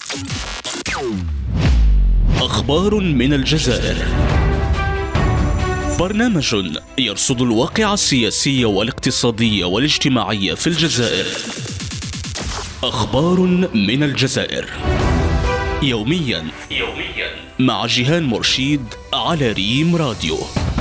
أخبار من الجزائر، برنامج يرصد الواقع السياسي والاقتصادي والاجتماعي في الجزائر. أخبار من الجزائر يوميا مع جيهان مرشيد على ريم راديو.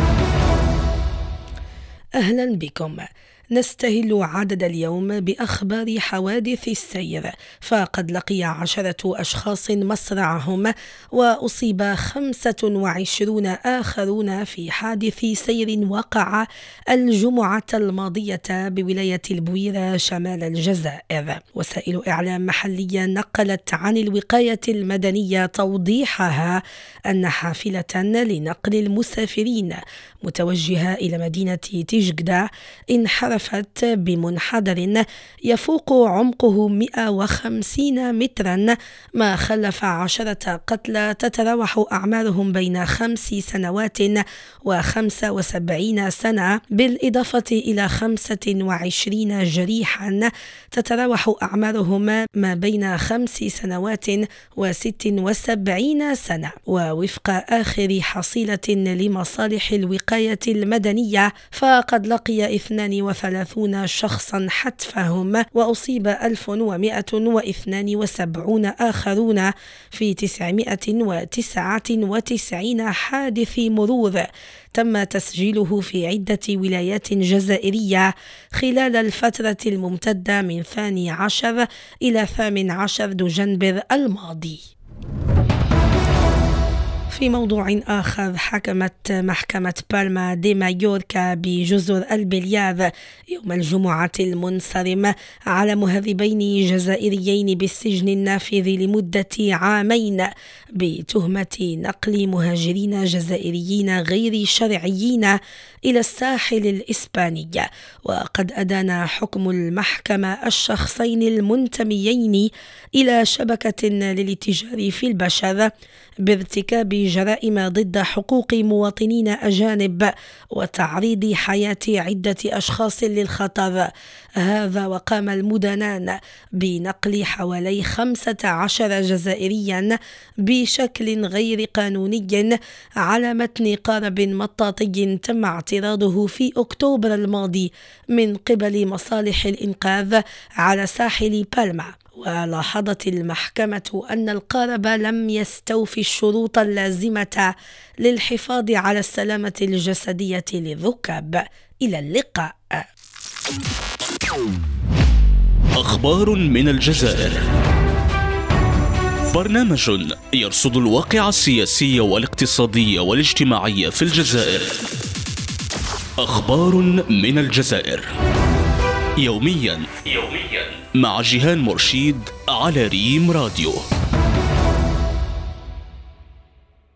أهلا بكم. نستهل عدد اليوم بأخبار حوادث السير، فقد لقي 10 أشخاص مصرعهم وأصيب 25 آخرون في حادث سير وقع الجمعة الماضية بولاية البويرة شمال الجزائر. وسائل إعلام محلية نقلت عن الوقاية المدنية توضيحها أن حافلة لنقل المسافرين متوجهة إلى مدينة تيجدة انحرفت بمنحدر يفوق عمقه 150 مترا، ما خلف 10 قتلى تتراوح أعمارهم بين 5 سنوات و75 سنة، بالإضافة إلى 25 جريحا تتراوح أعمارهم ما بين 5 سنوات و76 سنة. ووفق آخر حصيلة لمصالح الوقاية المدنية، فقد لقي 32 شخصا حتفهم، وأصيب 1172 آخرون في 999 حادث مرور تم تسجيله في عدة ولايات جزائرية خلال الفترة الممتدة من 12 إلى 18 دجنبر الماضي. في موضوع آخر، حكمت محكمة بالما دي مايوركا بجزر البليار يوم الجمعة المنصرم على مهربين جزائريين بالسجن النافذ لمدة 2 عام بتهمة نقل مهاجرين جزائريين غير شرعيين إلى الساحل الإسباني. وقد أدان حكم المحكمة الشخصين المنتميين إلى شبكة للاتجار في البشر بارتكاب جرائم ضد حقوق مواطنين أجانب وتعريض حياة عدة أشخاص للخطر. هذا وقام المدنان بنقل حوالي 15 جزائريا بشكل غير قانوني على متن قارب مطاطي تم اعتراضه في أكتوبر الماضي من قبل مصالح الإنقاذ على ساحل بالما. ولاحظت المحكمة أن القارب لم يستوفي الشروط اللازمة للحفاظ على السلامة الجسدية للركاب. إلى اللقاء. أخبار من الجزائر، برنامج يرصد الواقع السياسي والاقتصادي والاجتماعي في الجزائر. أخبار من الجزائر يوميا مع جيهان مرشيد على ريم راديو.